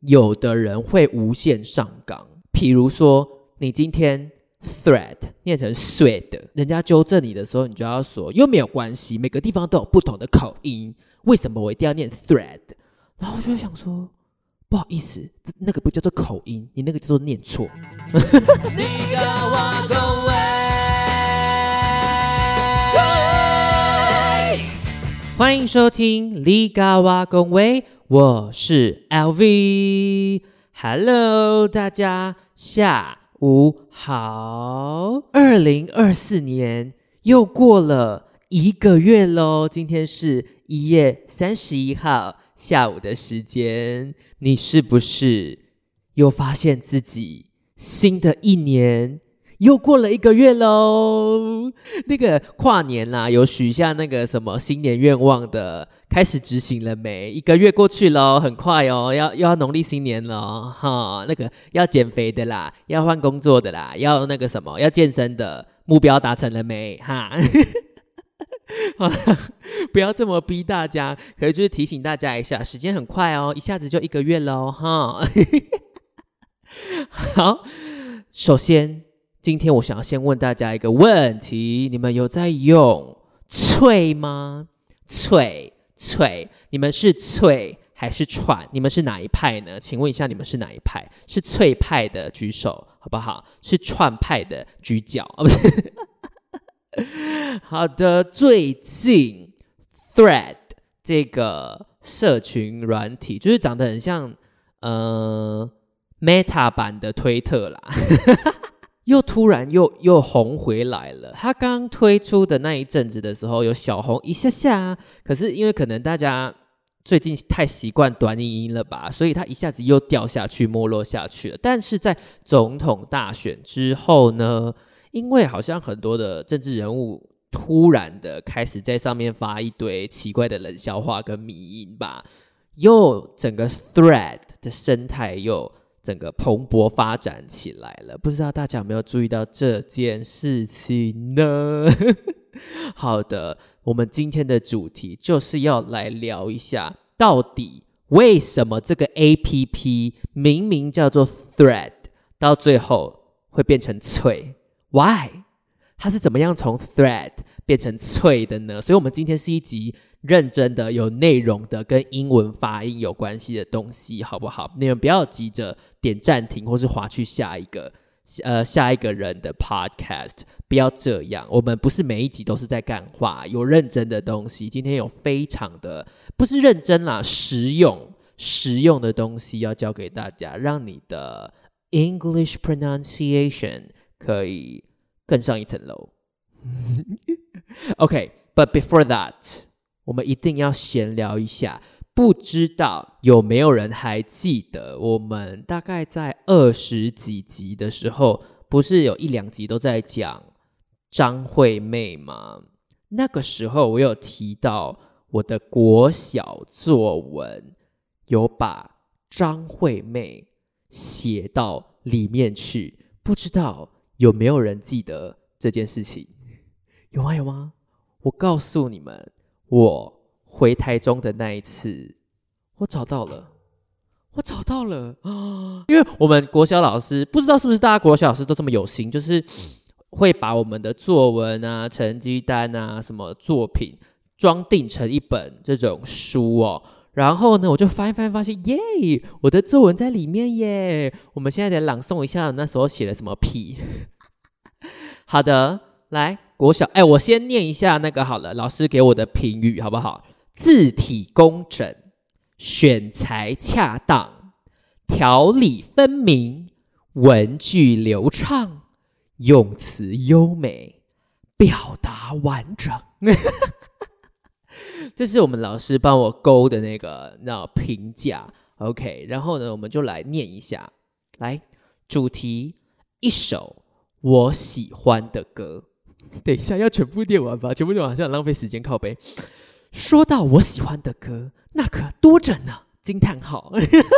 有的人会无限上纲，譬如说你今天 thread 念成 thread， 人家纠正你的时候，你就要说又没有关系，每个地方都有不同的口音，为什么我一定要念 thread？ 然后我就会想说，不好意思，那个不叫做口音，你那个叫做念错。欢迎收听你甲我讲话，我是 LV。Hello， 大家下午好。2024年又过了1个月咯，今天是1月31号下午的时间，你是不是又发现自己新的一年又过了1个月咯？那个跨年啦，有许下那个什么新年愿望的，开始执行了没？1个月过去咯，很快哦，又要农历新年了哈。那个要减肥的啦，要换工作的啦，要那个什么，要健身的，目标达成了没？哈。好了，不要这么逼大家，可是就是提醒大家一下，时间很快哦，一下子就1个月咯哈。好，首先今天我想要先问大家一个问题，你们有在用脆吗？脆，你们是脆还是串？你们是哪一派呢？请问一下，你们是哪一派？是脆派的举手好不好？是串派的举脚不是好的，最近 Thread 这个社群软体就是长得很像Meta 版的推特啦又突然又红回来了。他刚推出的那一阵子的时候有小红一下下，可是因为可能大家最近太习惯短影音了吧，所以他一下子又掉下去没落下去了。但是在总统大选之后呢，因为好像很多的政治人物突然的开始在上面发一堆奇怪的冷笑话跟迷因吧，又整个 Thread 的生态又整个蓬勃发展起来了，不知道大家有没有注意到这件事情呢？好的，我们今天的主题就是要来聊一下，到底为什么这个 APP 明明叫做 Thread， 到最后会变成脆 ？Why？ 它是怎么样从 Thread 变成脆的呢？所以我们今天是一集认真的有内容的跟英文发音有关系的东西好不好？你们不要急着点暂停或是滑去下一个人的 podcast， 不要这样，我们不是每一集都是在干话，有认真的东西，今天有非常的不是认真啦，实用的东西要教给大家，让你的 English pronunciation 可以更上一层楼OK， but before that我们一定要闲聊一下，不知道有没有人还记得我们大概在20几集的时候，不是有1、2集都在讲张惠妹吗？那个时候我有提到我的国小作文有把张惠妹写到里面去，不知道有没有人记得这件事情？有吗？我告诉你们，我回台中的那一次，我找到了因为我们国小老师，不知道是不是大家国小老师都这么有心，就是会把我们的作文啊、成绩单啊、什么作品装订成一本这种书哦。然后呢，我就翻一翻，发现耶，我的作文在里面耶！我们现在来朗诵一下那时候写了什么屁。好的，来国小，我先念一下那个好了，老师给我的评语好不好？字体工整，选材恰当，条理分明，文句流畅，用词优美，表达完整。这是我们老师帮我勾的那个评价 OK， 然后呢我们就来念一下。来，主题，一首我喜欢的歌。等一下要全部念完吧，全部念完好像很浪费时间，靠北。说到我喜欢的歌，那可多着呢！惊叹号。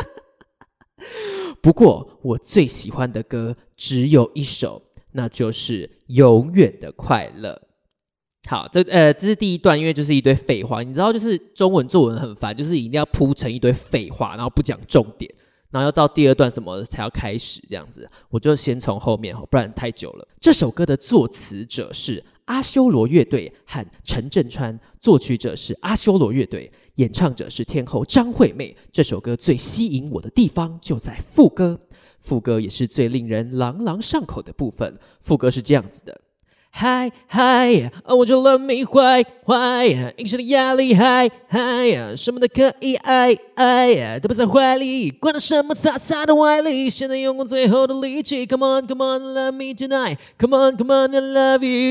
不过我最喜欢的歌只有一首，那就是《永远的快乐》。好，这是第一段，因为就是一堆废话，你知道，就是中文作文很烦，就是一定要铺成一堆废话，然后不讲重点。 然后要到第二段什么才要开始这样子，我就先从后面，不然太久了。这首歌的作词者是阿修罗乐队和陈振川，作曲者是阿修罗乐队，演唱者是天后张惠妹。这首歌最吸引我的地方就在副歌，副歌也是最令人朗朗上口的部分。副歌是这样子的。嗨嗨，我就let me 坏坏，隐身的压力嗨嗨，什么都可以爱爱，都不在怀里，管他什么擦擦的歪理，现在用我最后的力气 ，Come on Come on love me tonight，Come on Come on I love you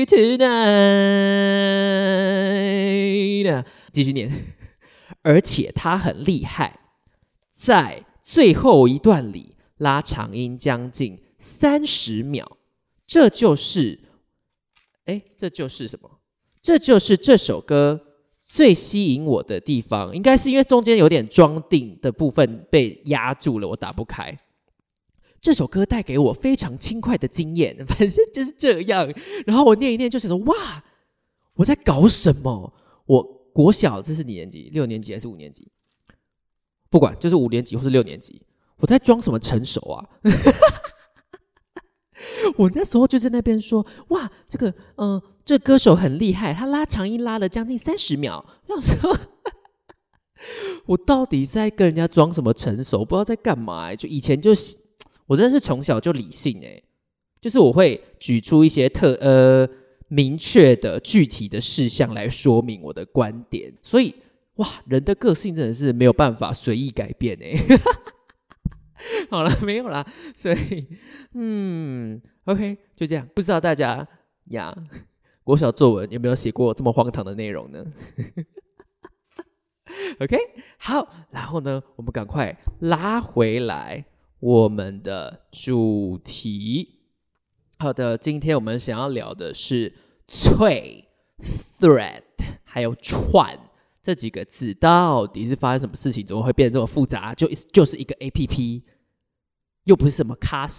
tonight，继续念，而且他很厉害，在最后一段里拉长音将近30秒，这就是什么？这就是这首歌最吸引我的地方，应该是因为中间有点装订的部分被压住了，我打不开。这首歌带给我非常轻快的经验，反正就是这样。然后我念一念，就是说哇，我在搞什么？我国小这是几年级？6年级还是5年级？不管，就是5年级或是6年级，我在装什么成熟啊？我那时候就在那边说，哇，这歌手很厉害，他拉长音拉了将近30秒。我想说，我到底在跟人家装什么成熟？不知道在干嘛就以前我真的是从小就理性就是我会举出一些明确的具体的事项来说明我的观点。所以哇，人的个性真的是没有办法随意改变好了，没有啦，所以OK， 就这样。不知道大家国小作文有没有写过这么荒唐的内容呢？OK， 好，然后呢，我们赶快拉回来我们的主题。好的，今天我们想要聊的是脆 thread 还有串这几个字到底是发生什么事情，怎么会变得这么复杂？就是一个 APP， 又不是什么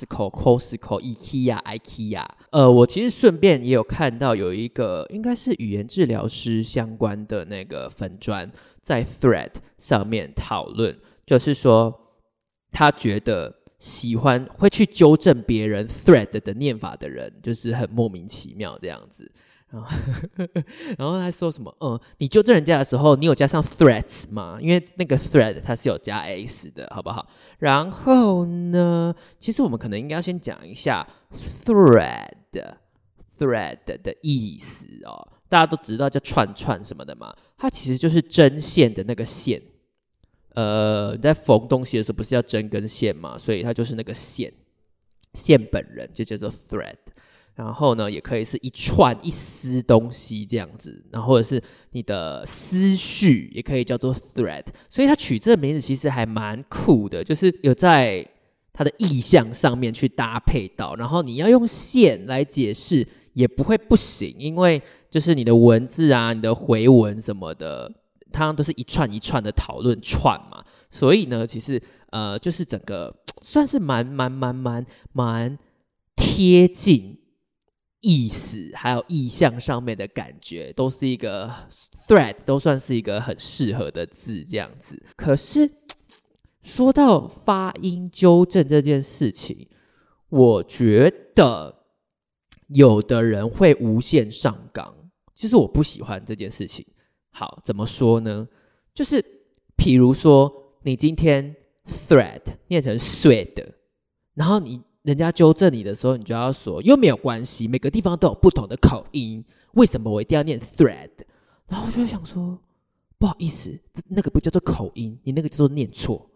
Costco、IKEA。我其实顺便也有看到有一个应该是语言治疗师相关的那个粉专在 Thread 上面讨论，就是说他觉得会去纠正别人 Thread 的念法的人，就是很莫名其妙这样子。然后他说什么你纠正人家的时候你有加上 threads 吗？因为那个 thread 它是有加 s 的，好不好？然后呢，其实我们可能应该要先讲一下 thread 的意思大家都知道叫串串什么的嘛，它其实就是针线的那个线。你在缝东西的时候不是要针跟线嘛，所以它就是那个线本人就叫做 thread。然后呢，也可以是一串一丝东西这样子，然后或者是你的思绪也可以叫做 thread。所以它取这个名字其实还蛮酷的，就是有在它的意象上面去搭配到，然后你要用线来解释也不会不行，因为就是你的文字啊、你的回文什么的，它都是一串一串的讨论串嘛，所以呢，其实就是整个算是蛮贴近意思还有意象上面的感觉，都是一个 thread， 都算是一个很适合的字这样子。可是说到发音纠正这件事情，我觉得有的人会无限上纲，就是我不喜欢这件事情。好，怎么说呢？就是比如说你今天 thread 念成 thread， 然后人家纠正你的时候，你就要说又没有关系，每个地方都有不同的口音，为什么我一定要念 thread？ 然后我就会想说，不好意思，那个不叫做口音，你那个叫做念错。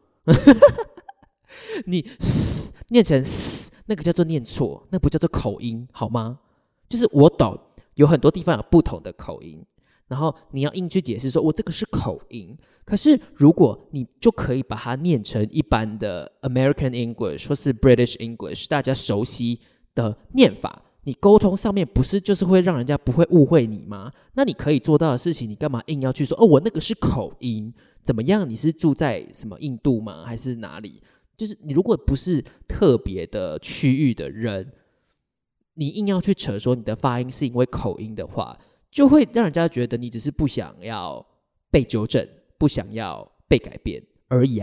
你念成那个叫做念错，那不叫做口音，好吗？就是我懂，有很多地方有不同的口音，然后你要硬去解释说我这个是口音，可是如果你就可以把它念成一般的 American English 或是 British English 大家熟悉的念法，你沟通上面不是就是会让人家不会误会你吗？那你可以做到的事情，你干嘛硬要去说我那个是口音？怎么样？你是住在什么印度吗？还是哪里？就是你如果不是特别的区域的人，你硬要去扯说你的发音是因为口音的话，就会让人家觉得你只是不想要被纠正，不想要被改变而已啊。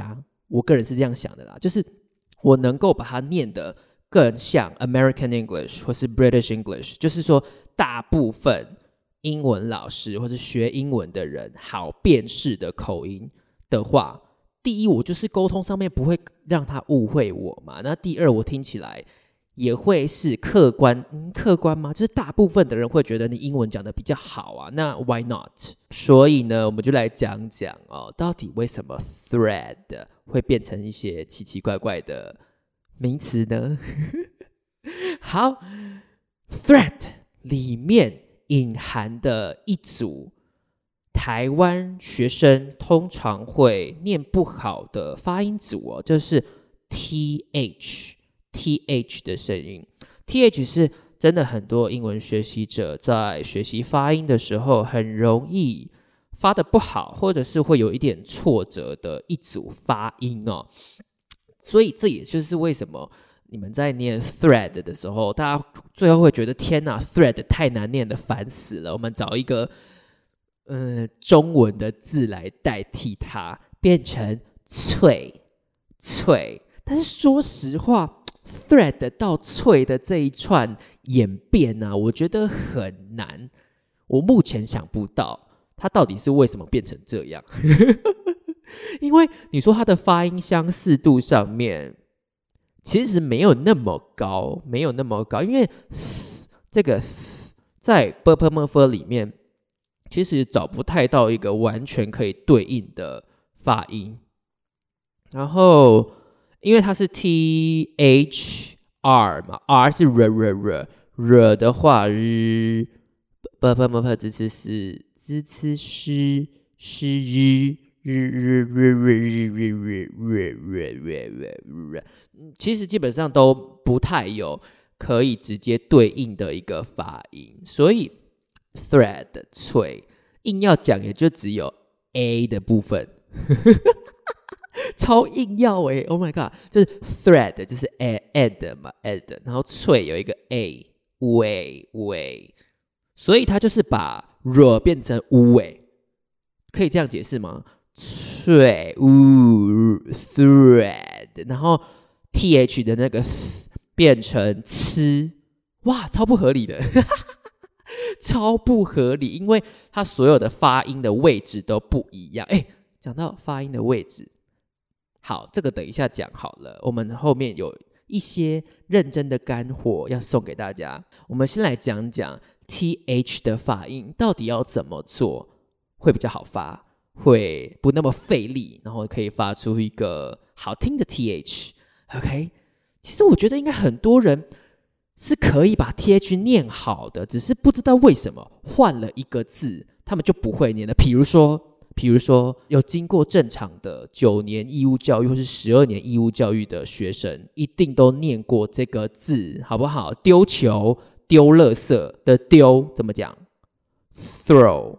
我个人是这样想的啦，就是我能够把它念得更像 American English 或是 British English， 就是说大部分英文老师或是学英文的人好辨识的口音的话，第一，我就是沟通上面不会让他误会我嘛。那第二，我听起来也会是客观吗？就是大部分的人会觉得你英文讲得比较好啊，那 why not？ 所以呢，我们就来讲讲到底为什么 thread 会变成一些奇奇怪怪的名词呢？好 ，thread 里面隐含的一组台湾学生通常会念不好的发音组就是 TH 的声音。 TH 是真的很多英文学习者在学习发音的时候很容易发得不好，或者是会有一点挫折的一组发音所以这也就是为什么你们在念 thread 的时候，大家最后会觉得天哪 thread 太难念了，烦死了，我们找一个中文的字来代替它，变成脆。但是说实话 thread 到脆的这一串演变我觉得很难，我目前想不到它到底是为什么变成这样。因为你说它的发音相似度上面其实没有那么高，因为这个在 /p/m/f 里面其实找不太到一个完全可以对应的发音，然后因为它是 THR 嘛 ，R 是 r 的话，/p/m/f 支持是支持是其实基本上都不太有可以直接对应的一个发音，所以 thread 脆硬要讲也就只有 A 的部分。超硬要Oh my god， 就是 thread 就是 add 嘛 add， 然后脆有一个 A 尾，所以它就是把 r 变成尾，可以这样解释吗？脆thread， 然后 th 的那个变成呲，哇，超不合理的。超不合理，因为它所有的发音的位置都不一样。讲到发音的位置，好，这个等一下讲好了，我们后面有一些认真的干货要送给大家。我们先来讲讲 th 的发音到底要怎么做会比较好发，会不那么费力，然后可以发出一个好听的 th。 OK， 其实我觉得应该很多人是可以把 th 念好的，只是不知道为什么换了一个字他们就不会念的。比如说有经过正常的9年义务教育或是12年义务教育的学生一定都念过这个字，好不好？丢球丢垃圾的丢怎么讲？ throw。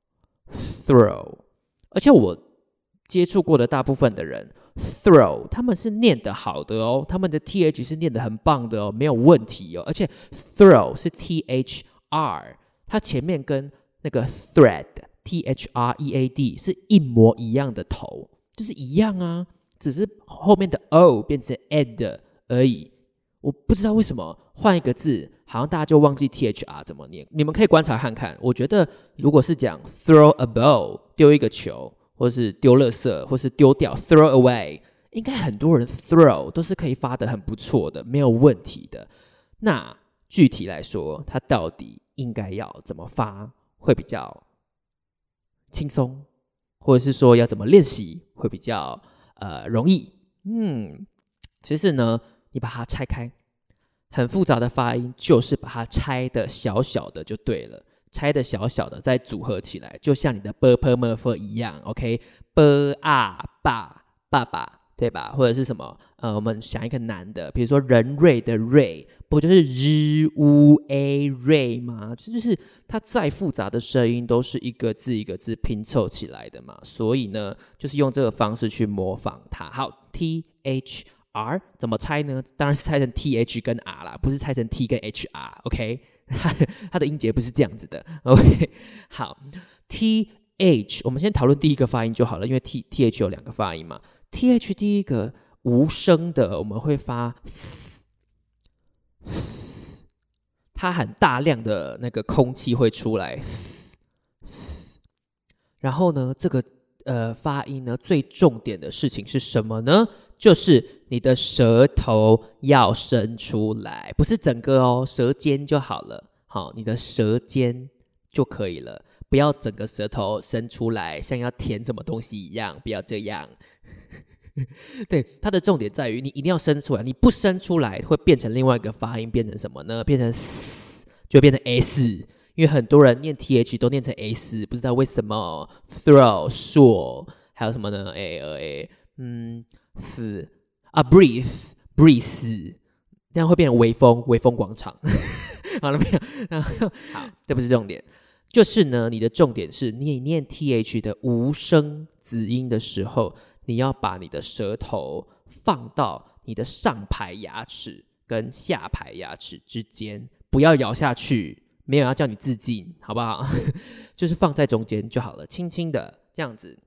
而且我接触过的大部分的人 throw 他们是念得好的他们的 th 是念得很棒的没有问题而且 throw 是 thr， 它前面跟那个 thread thread 是一模一样的头，就是一样啊，只是后面的 o 变成 ed 而已。我不知道为什么换一个字好像大家就忘记 thr 怎么念，你们可以观察看看。我觉得如果是讲 throw a ball 丢一个球，或是丢垃圾，或是丢掉 throw away， 应该很多人 throw 都是可以发得很不错的，没有问题的。那具体来说它到底应该要怎么发会比较轻松，或者是说要怎么练习会比较容易？其实呢，你把它拆开，很复杂的发音就是把它拆的小小的就对了，拆的小小的再组合起来，就像你的 /p/m/f 一样 ，OK， 爸爸，对吧？或者是什么我们想一个难的，比如说人瑞的瑞，不就是日乌 a 瑞吗？就是它再复杂的声音都是一个字一个字拼凑起来的嘛，所以呢，就是用这个方式去模仿它。好 ，thr 怎么拆呢？当然是拆成 th 跟 r 啦，不是拆成 t 跟 hr，OK？它的音节不是这样子的 ，OK？ 好 ，th 我们先讨论第一个发音就好了，因为 th 有2个发音嘛。 th 第一个无声的，我们会发它很大量的那个空气会出来，然后呢，这个发音呢，最重点的事情是什么呢？就是你的舌头要伸出来，不是整个哦，舌尖就好了。好，你的舌尖就可以了，不要整个舌头伸出来，像要填什么东西一样，不要这样。对，它的重点在于你一定要伸出来，你不伸出来会变成另外一个发音，变成什么呢？变成 s， 就变成 s， 因为很多人念 th 都念成 s， 不知道为什么。throw 硕，还有什么呢？breathe，这样会变成微风广场。好了没有？好，这不是重点，就是呢，你的重点是你念 th 的无声子音的时候，你要把你的舌头放到你的上排牙齿跟下排牙齿之间，不要咬下去，没有要叫你自尽，好不好？就是放在中间就好了，轻轻的这样子。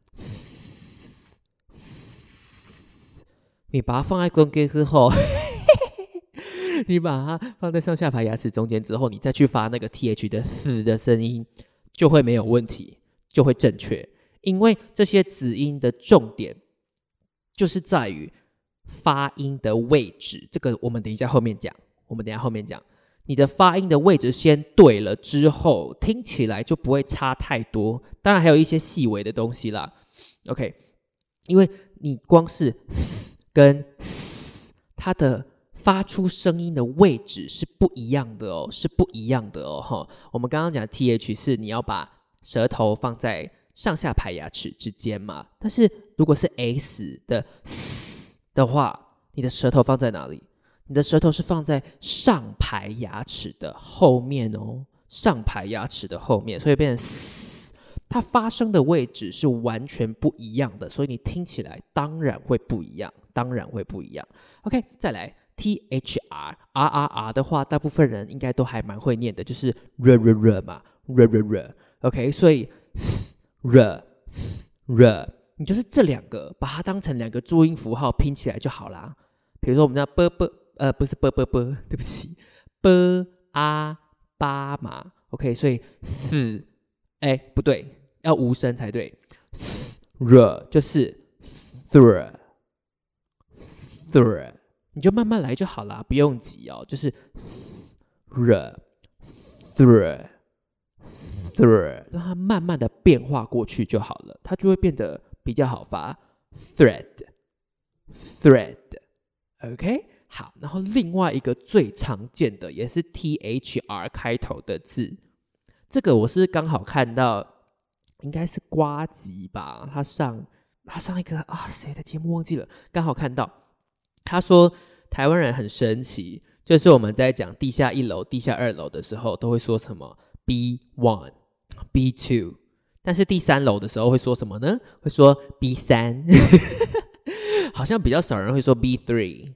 你把它放在中间之后，你把它放在上下排牙齿中间之后，你再去发那个 th 的嘶的声音，就会没有问题，就会正确。因为这些子音的重点就是在于发音的位置，这个我们等一下后面讲。你的发音的位置先对了之后，听起来就不会差太多。当然还有一些细微的东西啦。OK， 因为你光是跟它的发出声音的位置是不一样的哦，我们刚刚讲 th 是你要把舌头放在上下排牙齿之间嘛，但是如果是 s 的 s 的话，你的舌头放在哪里？你的舌头是放在上排牙齿的后面哦，上排牙齿的后面，所以变成 s， 它发声的位置是完全不一样的，所以你听起来当然会不一样。OK， 再来 thr 的话，大部分人应该都还蛮会念的，就是 r 嘛 r OK， 所以 r 你就是这两个把它当成两个注音符号拼起来就好啦。比如说我们叫不是对不起巴嘛 OK， 所以不对，要无声才对。r 就是 thr， 你就慢慢来就好啦，不用急哦，就是 thr， 让它慢慢的变化过去就好了，它就会变得比较好发。thread OK， 好，然后另外一个最常见的也是 thr 开头的字，这个我是刚好看到，应该是呱吉吧，他上一个谁的节目忘记了，刚好看到他说台湾人很神奇，就是我们在讲地下1楼、地下2楼的时候，都会说什么 B1、B2， 但是第3楼的时候会说什么呢？会说 B3， 好像比较少人会说 B3，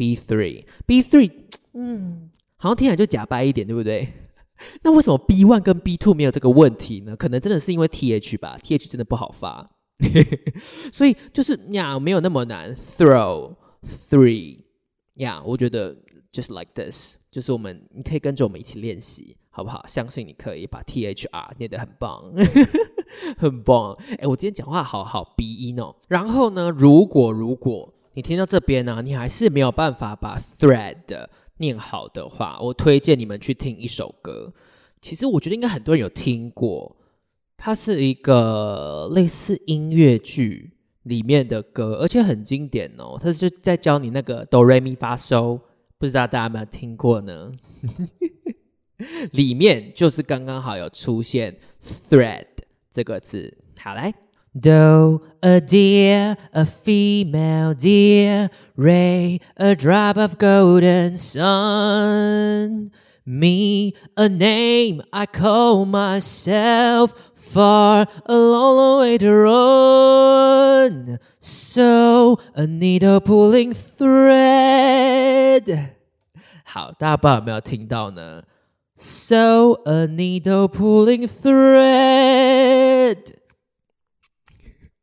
好像听起来就假掰一点，对不对？那为什么 B1 跟 B2 没有这个问题呢？可能真的是因为 TH 吧， TH 真的不好发。所以就是没有那么难。throw 3我觉得 just like this， 就是你可以跟着我们一起练习，好不好？相信你可以把 THR 念得很棒。很棒。我今天讲话好鼻音哦。然后呢，如果你听到这边呢，你还是没有办法把 thread 念好的话，我推荐你们去听一首歌。其实我觉得应该很多人有听过，它是一个类似音乐剧里面的歌，而且很经典哦。它就在教你那个哆来咪发嗦，不知道大家有没有听过呢？里面就是刚刚好有出现 thread 这个字。好，来 Doe, a deer, a female deer, Ray, a drop of golden sun, Me, a name I call myself, Far, a long way to run, So, a needle pulling thread. 好，大家不知道有没有听到呢？ So, a needle pulling thread.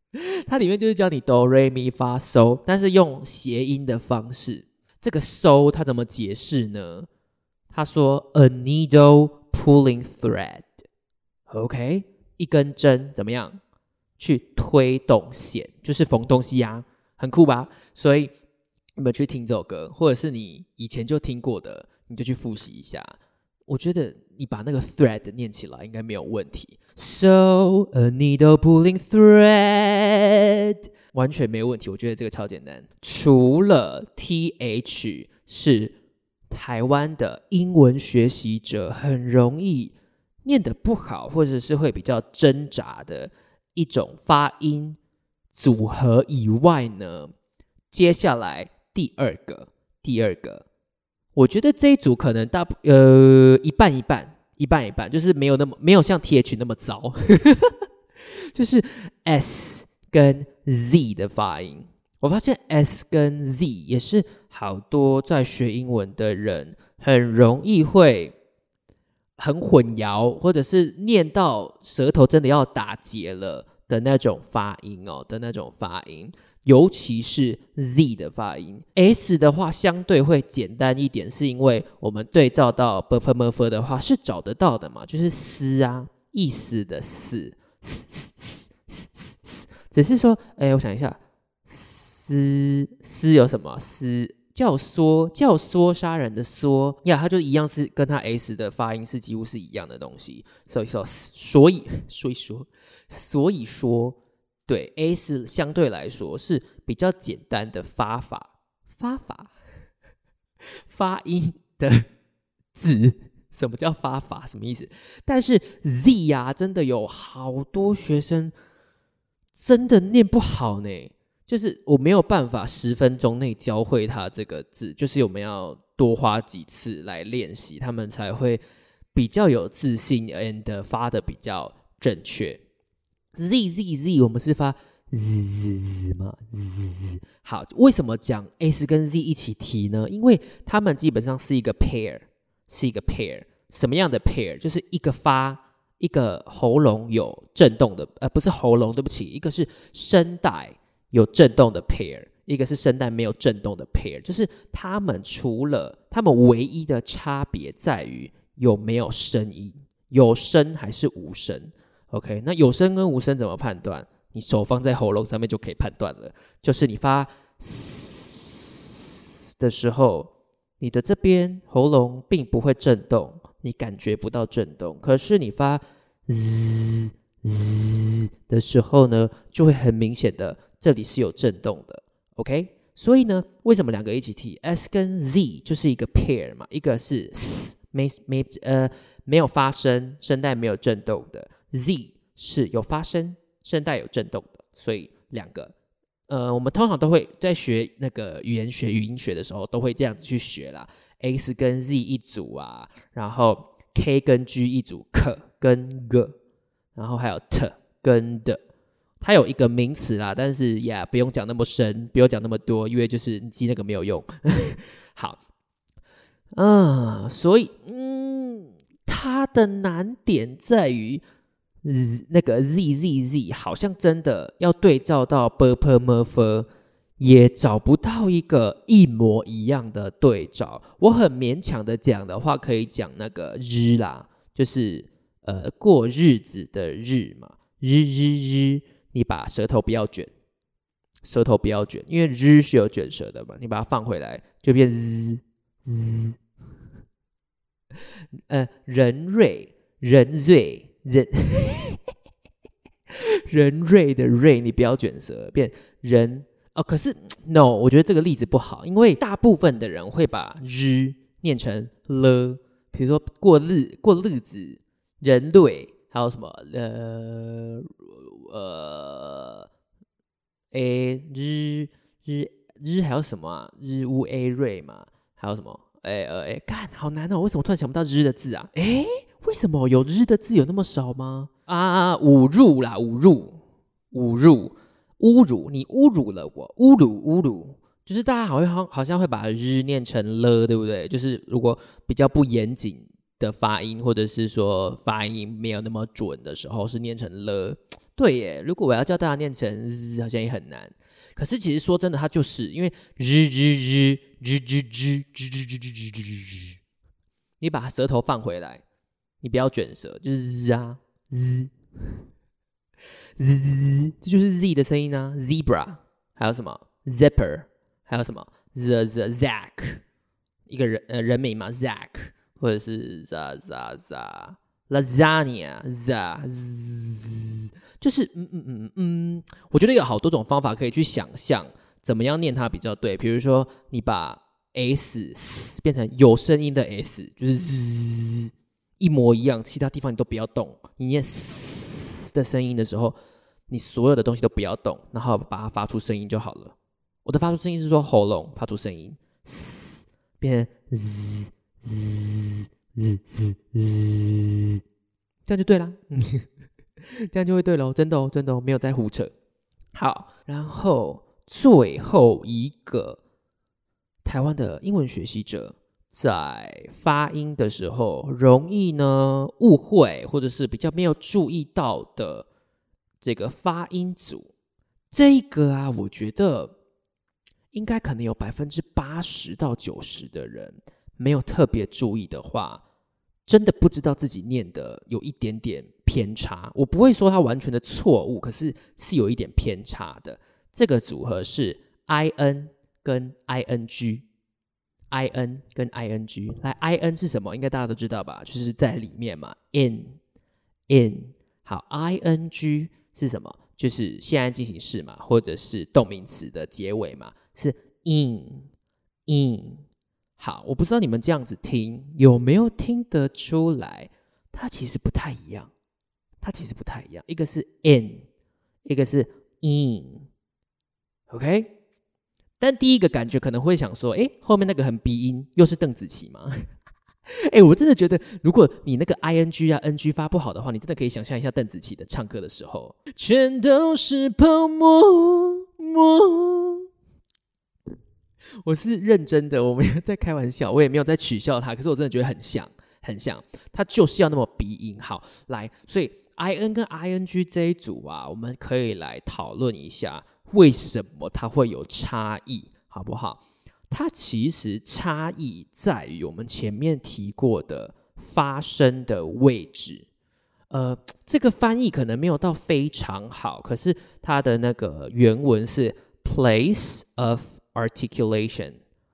它里面就是教你哆瑞咪发嗦，但是用谐音的方式。这个嗦它怎么解释呢？他说 a needle pulling thread， OK， 一根针怎么样去推动线，就是缝东西啊，很酷吧？所以你们去听这首歌，或者是你以前就听过的，你就去复习一下。我觉得你把那个 thread 念起来应该没有问题。So a needle pulling thread， 完全没有问题。我觉得这个超简单。除了 th 是台湾的英文学习者很容易念得不好，或者是会比较挣扎的一种发音组合以外呢，接下来第二个，我觉得这一组可能一半一半，就是没有像 th 那么糟，就是 s 跟 z 的发音。我发现 s 跟 z 也是好多在学英文的人很容易会很混淆，或者是念到舌头真的要打结了的那种发音哦，尤其是 Z 的发音。 S 的话相对会简单一点，是因为我们对照到 bf 的话是找得到的嘛，就是思啊，意思的思，只是说我想一下，思有什么？思教唆杀人的唆呀，它就一样是跟它 S 的发音是几乎是一样的东西，所以说对 S 相对来说是比较简单的发音的字。什么叫发法？什么意思？但是 Z 啊，真的有好多学生真的念不好呢。就是我没有办法10分钟内教会他这个字，就是我们要多花几次来练习，他们才会比较有自信 and 发的比较正确。Z 我们是发 z 嘛 z。 好，为什么讲 S 跟 Z 一起提呢？因为他们基本上是一个 pair。什么样的 pair？ 就是一个发，一个喉咙有震动的，不是喉咙，对不起，一个是声带有震动的 pair， 一个是声带没有震动的 pair， 就是他们唯一的差别在于有没有声音，有声还是无声。 OK， 那有声跟无声怎么判断？你手放在喉咙上面就可以判断了，就是你发的时候，你的这边喉咙并不会震动，你感觉不到震动，可是你发 z 的时候呢，就会很明显的这里是有震动的。 OK， 所以呢，为什么两个一起提 S 跟 Z 就是一个 pair 嘛，一个是没有发声，声带没有震动的， Z 是有发声，声带有震动的，所以两个我们通常都会在学那个语言学、语音学的时候，都会这样子去学啦。S 跟 Z 一组啊，然后 K 跟 G 一组 ，K 跟 G， 然后还有 T 跟 D。它有一个名词啦，但是不用讲那么深，不用讲那么多，因为就是你记那个没有用。好，所以它的难点在于。那个 Z 好像真的要对照到 bpmf 也找不到一个一模一样的对照。我很勉强的讲的话，可以讲那个日啦，就是过日子的日嘛，日，你把舌头不要卷，因为日是有卷舌的嘛，你把它放回来就变 z。人瑞的瑞，你不要卷舌，变人可是 no， 我觉得这个例子不好，因为大部分的人会把日念成了，比如说过日子，人类，还有什么日还有什么啊？日乌 a 瑞嘛，还有什么干好难哦，为什么突然想不到日的字啊？为什么有日的字有那么少吗？侮辱啦，侮辱，你侮辱了我，侮辱，就是大家好像会把日念成了，对不对？就是如果比较不严谨的发音，或者是说发音没有那么准的时候，是念成了。 对耶，如果我要叫大家念成 z 好像也很难。可是其实说真的，它就是因为你把舌头放回来，你不要卷舌，就是 z 啊 z， 这就是 z 的声音啊 ，zebra， 还有什么 zipper， 还有什么 Zack， 一个人名嘛 Zack， 或者是 lasagna， 就是我觉得有好多种方法可以去想象怎么样念它比较对。比如说你把 s 变成有声音的 s， 就是 一模一样，其他地方你都不要动。你念 s 的声音的时候，你所有的东西都不要动，然后把它发出声音就好了。我的发出声音是说喉咙发出声音，变成 这样就对啦。这样就会对咯，真的哦，真的哦，没有在胡扯。好，然后最后一个台湾的英文学习者在发音的时候容易呢误会，或者是比较没有注意到的这个发音组，这个啊，我觉得应该可能有80%到90%的人没有特别注意的话，真的不知道自己念的有一点点偏差。我不会说它完全的错误，可是是有一点偏差的。这个组合是 in 跟 ing， in 跟 ing。 来 in 是什么？应该大家都知道吧，就是在里面嘛， in。 好， ing 是什么？就是现在进行式嘛，或者是动名词的结尾嘛，是 in。 好，我不知道你们这样子听有没有听得出来，它其实不太一样。一个是 in， 一个是 in， OK？ 但第一个感觉可能会想说，后面那个很鼻音，又是邓紫棋吗？我真的觉得，如果你那个 ing 啊 ng 发不好的话，你真的可以想象一下邓紫棋的唱歌的时候，全都是泡沫。我是认真的，我没有在开玩笑，我也没有在取笑他，可是我真的觉得很像，他就是要那么鼻音。好，来，所以 in 跟 ing 这一组啊，我们可以来讨论一下为什么它会有差异，好不好？它其实差异在于我们前面提过的发声的位置。这个翻译可能没有到非常好，可是它的那个原文是 place of articulation。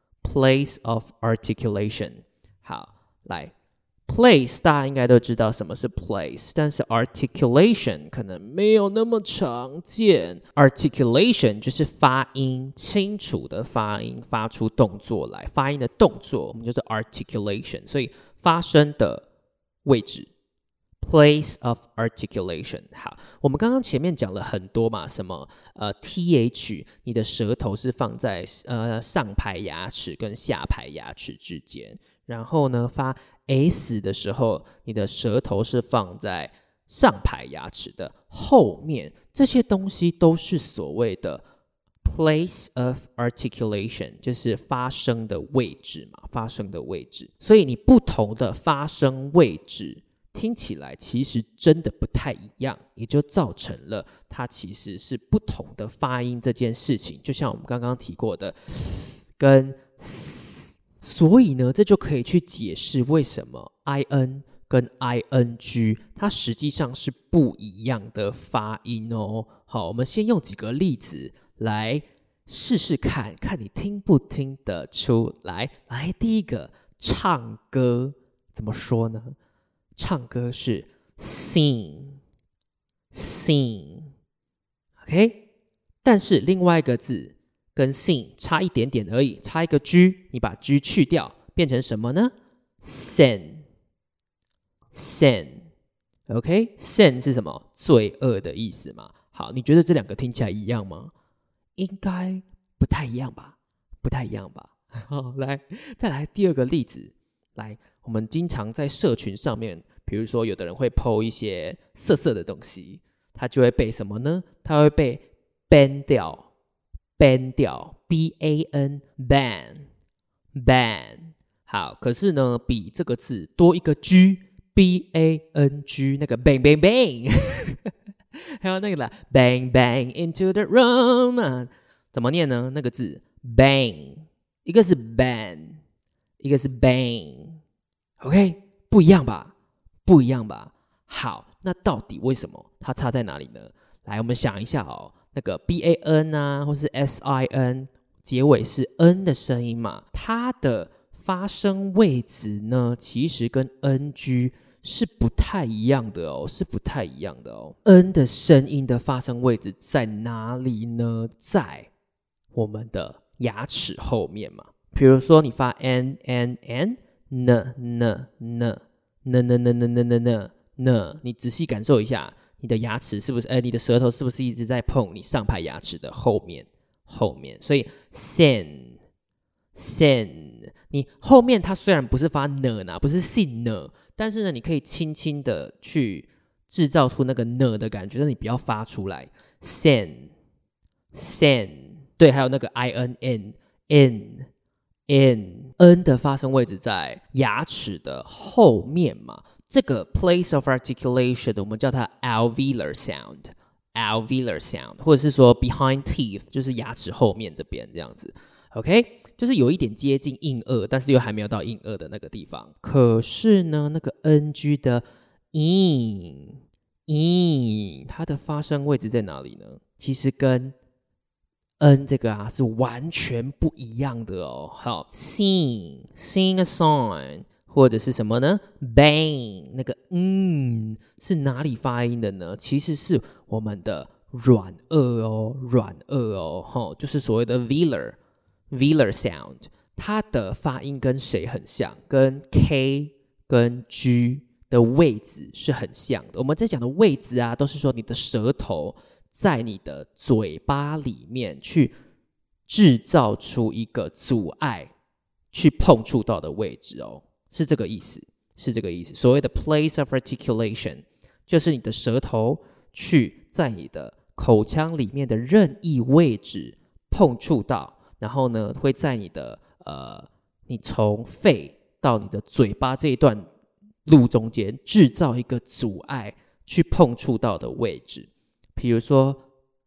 好，来 place 大家应该都知道什么是 place， 但是 articulation 可能没有那么常见。 articulation 就是发音清楚的发音，发出动作来，发音的动作我们就是 articulation， 所以发声的位置place of articulation。 好，我们刚刚前面讲了很多嘛，什么th， 你的舌头是放在上排牙齿跟下排牙齿之间，然后呢发 s 的时候，你的舌头是放在上排牙齿的后面，这些东西都是所谓的 place of articulation， 就是发声的位置嘛，发声的位置。所以你不同的发声位置听起来其实真的不太一样，也就造成了它其实是不同的发音这件事情，就像我们刚刚提过的跟 s， 所以呢，这就可以去解释为什么 in 跟 ing 它实际上是不一样的发音哦。好，我们先用几个例子来试试看，看你听不听得出来。来，第一个，唱歌怎么说呢？唱歌是 sing， OK？ 但是另外一个字跟 sing 差一点点而已，差一个 G， 你把 G 去掉，变成什么呢？ sin， OK？ sin 是什么？罪恶的意思嘛。好，你觉得这两个听起来一样吗？应该不太一样吧？好，来，再来第二个例子。来，我们经常在社群上面，比如说有的人会 po 一些色的东西，他就会被什么呢？他会被 ban 掉 ban ban。 好，可是呢比这个字多一个 G， bang， 那个 bang 还有那个啦 ，bang bang into the room，怎么念呢？那个字 bang， 一个是 bang， 一个是 bang，OK， 不一样吧？不一样吧？好，那到底为什么它差在哪里呢？来，我们想一下哦，那个 ban 啊，或是 sin， 结尾是 n 的声音嘛，它的发声位置呢，其实跟 ng 是不太一样的哦，是不太一样的哦。n 的声音的发声位置在哪里呢？在我们的牙齿后面嘛。比如说你发 n n n n，你仔细感受一下，你的牙齿是不是？你的舌头是不是一直在碰你上排牙齿的后面？所以 sen， 你后面它虽然不是发呢，不是 sin 呢，但是呢，你可以轻轻的去制造出那个呢的感觉，但你不要发出来。sen， 对，还有那个 n 的发声位置在牙齿的后面嘛。这个 place of articulation 我们叫它 alveolar sound， 或者是说 behind teeth， 就是牙齿后面这边这样子 OK， 就是有一点接近硬腭，但是又还没有到硬腭的那个地方。可是呢，那个 ng 的 它的发声位置在哪里呢？其实跟 n 这个是完全不一样的哦。好 sing a song， 或者是什么呢 bang， 那个是哪里发音的呢？其实是我们的软腭哦，就是所谓的 velar sound， 它的发音跟谁很像？跟 k 跟 g 的位置是很像的。我们在讲的位置都是说你的舌头在你的嘴巴里面去制造出一个阻碍去碰触到的位置哦，是这个意思。所谓的 place of articulation 就是你的舌头去在你的口腔里面的任意位置碰触到，然后呢会在你的你从肺到你的嘴巴这一段路中间制造一个阻碍去碰触到的位置。比如说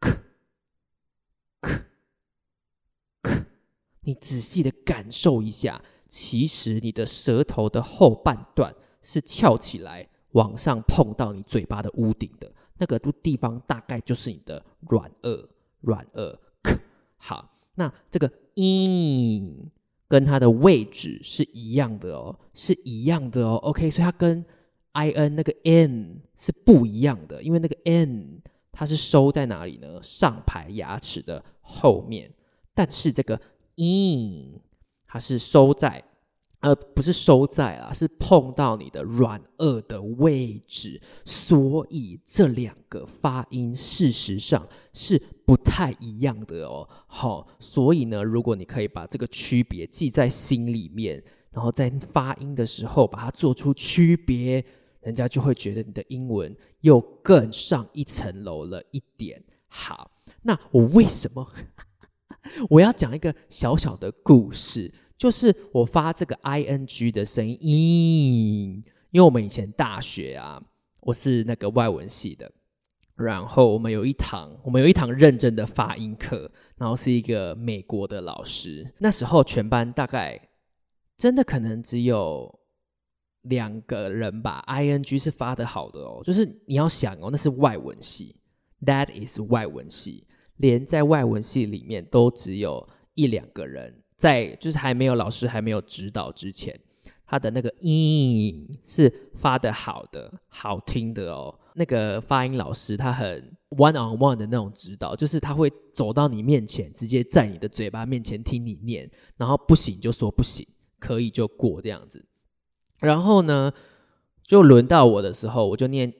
你仔细的感受一下，其实你的舌头的后半段是翘起来往上碰到你嘴巴的屋顶的，那个地方大概就是你的软腭。好，那这个跟它的位置是一样的哦，OK， 所以它跟 in 那个 n 是不一样的，因为那个 n 它是收在哪里呢？上排牙齿的后面，但是这个它是收在不是收在啦，是碰到你的软腭的位置，所以这两个发音事实上是不太一样的哦。好，所以呢，如果你可以把这个区别记在心里面，然后在发音的时候把它做出区别，人家就会觉得你的英文又更上一层楼了一点。好，那我为什么我要讲一个小小的故事，就是我发这个 ing 的声音，因为我们以前大学我是那个外文系的，然后我们有一堂认真的发音课，然后是一个美国的老师，那时候全班大概真的可能只有2个人吧 ing 是发得好的哦，就是你要想哦，那是外文系， that is 外文系，连在外文系里面都只有1-2个人，在就是还没有老师还没有指导之前，他的那个是发得好的好听的哦。那个发音老师他很 one on one 的那种指导，就是他会走到你面前，直接在你的嘴巴面前听你念，然后不行就说不行，可以就过这样子。然后呢就轮到我的时候，我就念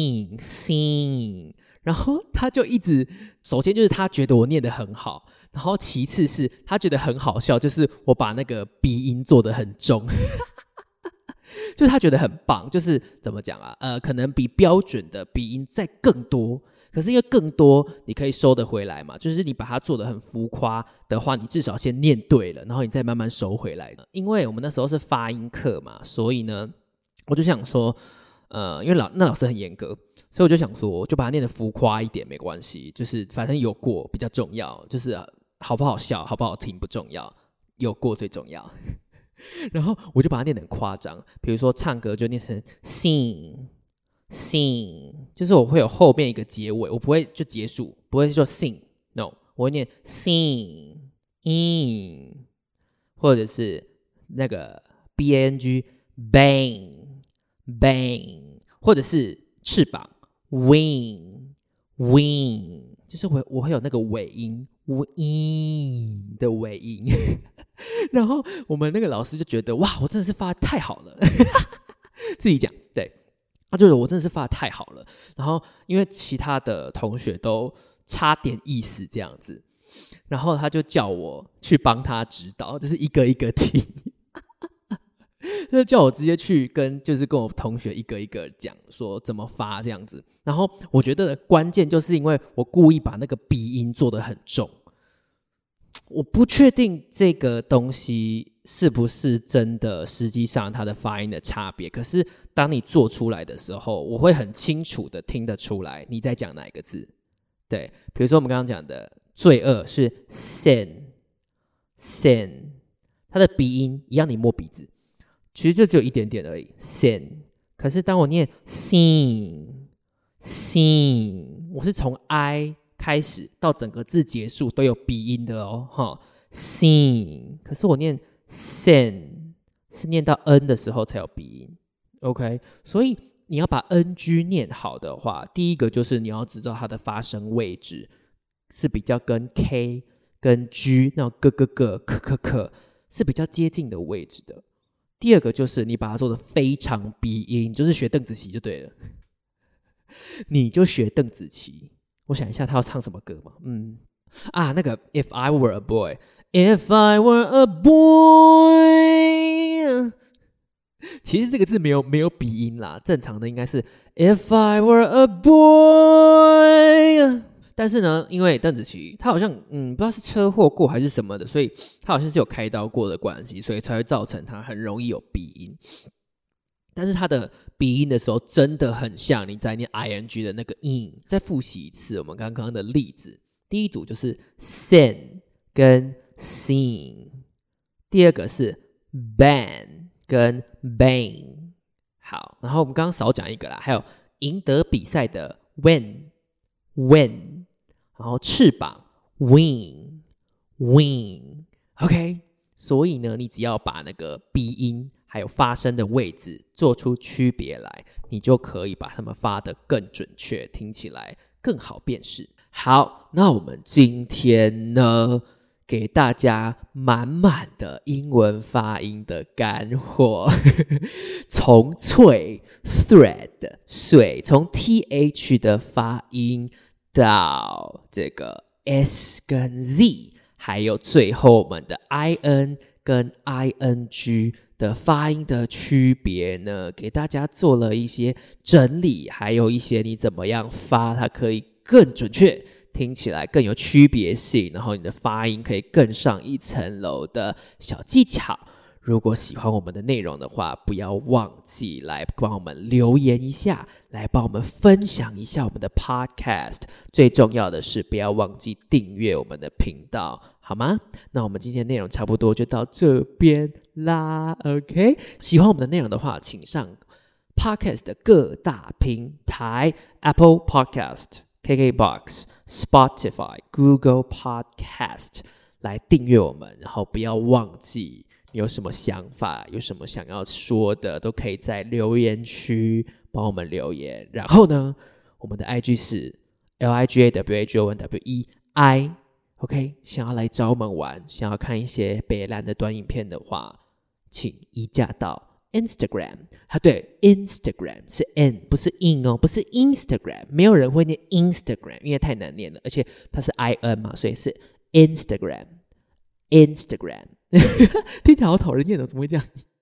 sing，然后他就一直，首先就是他觉得我念得很好，然后其次是他觉得很好笑，就是我把那个鼻音做得很重就是他觉得很棒，就是怎么讲可能比标准的鼻音再更多，可是因为更多你可以收得回来嘛，就是你把它做得很浮夸的话，你至少先念对了，然后你再慢慢收回来。因为我们那时候是发音课嘛，所以呢我就想说因为那老师很严格，所以我就想说，就把它念得浮夸一点没关系，就是反正有过比较重要，就是好不好笑、好不好听不重要，有过最重要。然后我就把它念得很夸张，比如说唱歌就念成 sing， 就是我会有后面一个结尾，我不会就结束，不会说 sing， no， 我会念 sing in， 或者是那个 bang bang， 或者是翅膀 wing， 就是我会有那个尾音 wing 的尾音。然后我们那个老师就觉得哇，我真的是发得太好了，自己讲，对，他觉得我真的是发得太好了。然后因为其他的同学都差点意思这样子，然后他就叫我去帮他指导，就是一个一个听，就叫我直接去跟我同学一个一个讲说怎么发这样子。然后我觉得关键就是因为我故意把那个鼻音做得很重。我不确定这个东西是不是真的实际上它的发音的差别，可是当你做出来的时候，我会很清楚的听得出来你在讲哪一个字。对，比如说我们刚刚讲的罪恶是 sin， 它的鼻音一样，你摸鼻子其实就只有一点点而已 sin， 可是当我念 sin， 我是从 I开始到整个字结束都有鼻音的哦，sing， 可是我念 sen 是念到 n 的时候才有鼻音 ，OK， 所以你要把 NG 念好的话，第一个就是你要知道它的发声位置是比较跟 K 跟 G 那种可是比较接近的位置的。第二个就是你把它做得非常鼻音，就是学邓紫棋就对了，你就学邓紫棋。我想一下他要唱什么歌嘛？那个 If I Were a Boy， If I Were a Boy， 其实这个字没有鼻音啦，正常的应该是 If I Were a Boy， 但是呢，因为邓紫棋她好像不知道是车祸过还是什么的，所以她好像是有开刀过的关系，所以才会造成她很容易有鼻音。但是它的鼻音的时候真的很像你在念 ing 的那个 in。 再复习一次我们刚刚的例子，第一组就是 sin 跟 sing， 第二个是 ban 跟 bang。 好，然后我们刚刚少讲一个啦，还有赢得比赛的 win， 然后翅膀 wing， OK， 所以呢你只要把那个鼻音还有发声的位置做出区别来，你就可以把它们发得更准确，听起来更好辨识。好，那我们今天呢，给大家满满的英文发音的干货，从脆 thread 水，从 th 的发音到这个 s 跟 z， 还有最后我们的 in 跟 ing的发音的区别呢，给大家做了一些整理，还有一些你怎么样发它可以更准确，听起来更有区别性，然后你的发音可以更上一层楼的小技巧。如果喜欢我们的内容的话，不要忘记来帮我们留言一下，来帮我们分享一下我们的 podcast。 最重要的是不要忘记订阅我们的频道，好吗？那我们今天内容差不多就到这边啦 OK， 喜欢我们的内容的话，请上 podcast 的各大平台 Apple Podcast、KKBox、Spotify、Google Podcast 来订阅我们，然后不要忘记你有什么想法，有什么想要说的，都可以在留言区帮我们留言。然后呢，我们的 IG 是 LIGAWHONWEI OK， 想要来找我们玩，想要看一些北兰的短影片的话，请移驾到 Instagram。 对， Instagram 是 N 不是 in 哦，不是 Instagram， 没有人会念 Instagram， 因为太难念了，而且它是 IN 嘛，所以是 Instagram 听起来好讨人厌的，怎么会这样？